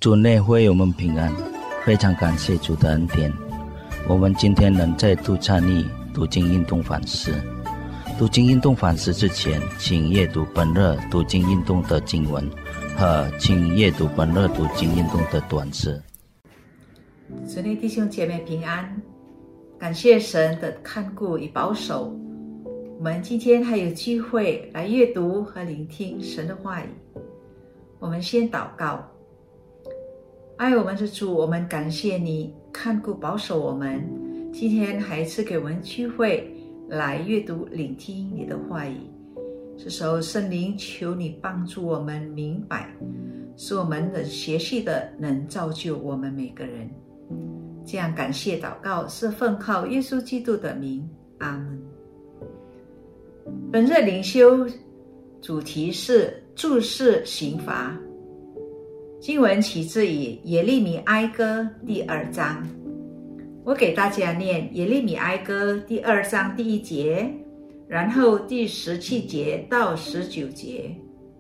主内会我们平安，非常感谢主的恩典。我们今天能再度参与读经运动反思。读经运动反思之前，请阅读本日读经运动的经文和请阅读本日读经运动的短诗。 主内弟兄姐妹平安，感谢神的看顾与保守。我们今天还有机会来阅读和聆听神的话语。我们先祷告。爱我们的主，我们感谢你看顾保守我们，今天还赐给我们机会来阅读聆听你的话语。这时候圣灵求你帮助我们明白，使我们能学习的能造就我们每个人。这样感谢祷告是奉靠耶稣基督的名，阿们。本日灵修主题是注释刑罚，经文起自于耶利米哀歌第2章。我给大家念耶利米哀歌第2章第1节，然后第17节到19节。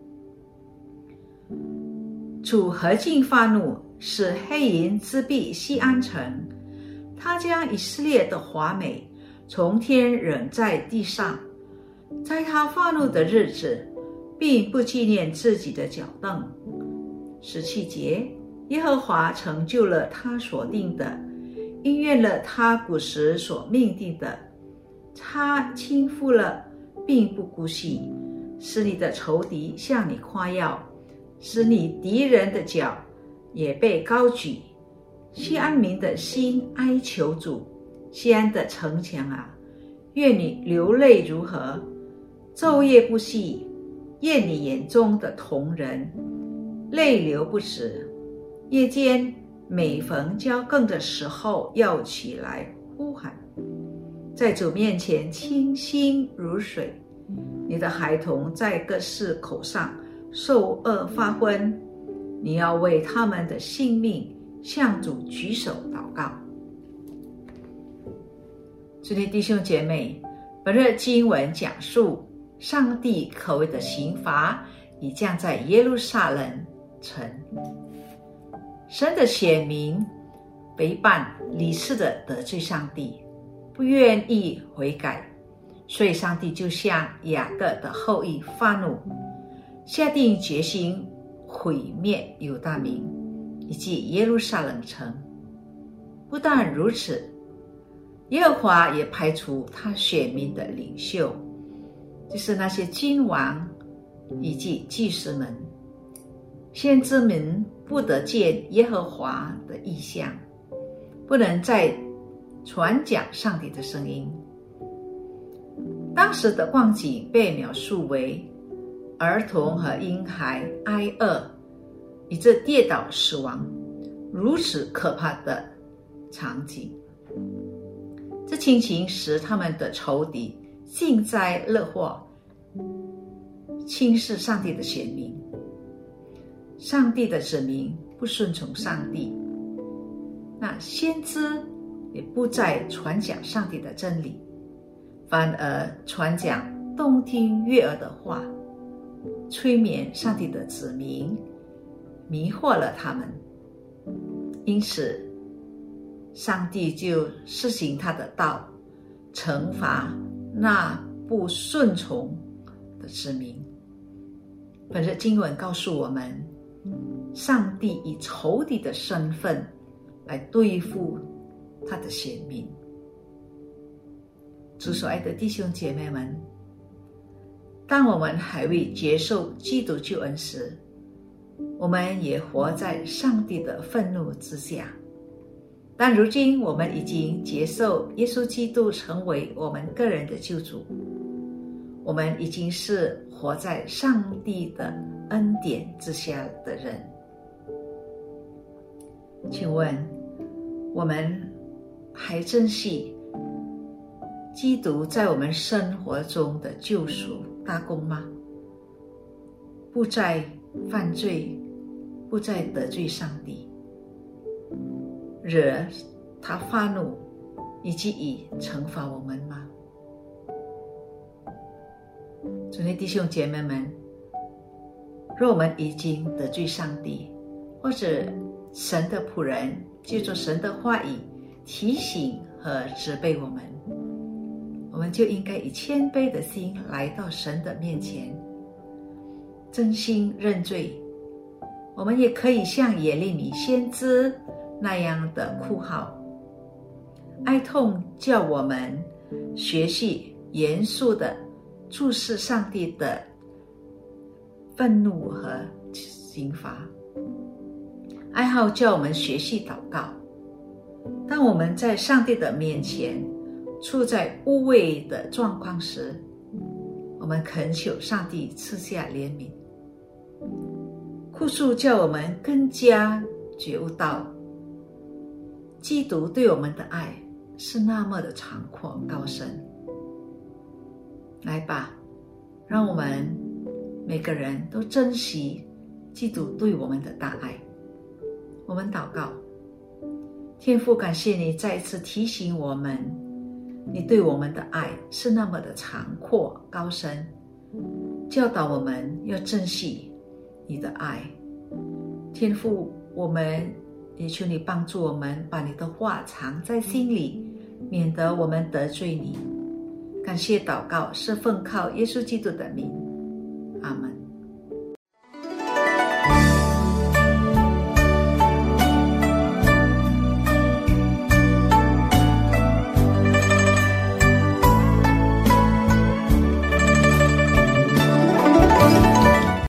主何竟发怒，使黑云遮蔽锡安城，他将以色列的华美从天扔在地上。在他发怒的日子，并不纪念自己的脚凳。17节，耶和华成就了他所定的，应验了他古时所命定的。他倾覆了，并不姑息，使你的仇敌向你夸耀，使你敌人的脚也被高举。锡安民的心哀求主，锡安的城墙啊，愿你流泪如何，昼夜不息，厌你眼中的瞳人，泪流不止。夜间每逢交更的时候，要起来呼喊，在主面前清心如水。你的孩童在各市口上受饿发昏，你要为他们的性命向主举手祷告。主内弟兄姐妹，本日经文讲述上帝可畏的刑罚已降在耶路撒冷城。神的选民背叛离世的得罪上帝，不愿意悔改，所以上帝就向雅各的后裔发怒，下定决心毁灭犹大民以及耶路撒冷城。不但如此，耶和华也排除他选民的领袖，就是那些君王以及祭司们。先知们不得见耶和华的异象，不能再传讲上帝的声音。当时的光景被描述为儿童和婴孩挨饿，以致跌倒死亡，如此可怕的场景。这情形使他们的仇敌幸灾乐祸，轻视上帝的选民。上帝的子民不顺从上帝，那先知也不再传讲上帝的真理，反而传讲动听悦耳的话，催眠上帝的子民，迷惑了他们。因此上帝就施行他的道，惩罚那不顺从的子民。本日经文告诉我们，上帝以仇敌的身份来对付他的选民。主所爱的弟兄姐妹们，当我们还未接受基督救恩时，我们也活在上帝的愤怒之下。但如今我们已经接受耶稣基督成为我们个人的救主，我们已经是活在上帝的恩典之下的人。请问我们还珍惜基督在我们生活中的救赎大功吗？不再犯罪，不再得罪上帝，惹他发怒，以及以惩罚我们吗？主内弟兄姐妹们，若我们已经得罪上帝，或者神的仆人借着神的话语提醒和责备我们，我们就应该以谦卑的心来到神的面前，真心认罪。我们也可以像耶利米先知那样的哭号，哀痛叫我们学习严肃地注视上帝的愤怒和刑罚。哀号叫我们学习祷告。当我们在上帝的面前处在污秽的状况时，我们恳求上帝赐下怜悯。哭诉叫我们更加觉悟到基督对我们的爱是那么的长阔高深。来吧，让我们每个人都珍惜基督对我们的大爱。我们祷告，天父，感谢你再一次提醒我们，你对我们的爱是那么的长阔高深，教导我们要珍惜你的爱。天父，我们也求你帮助我们把你的话藏在心里，免得我们得罪你。感谢祷告是奉靠耶稣基督的名，阿们。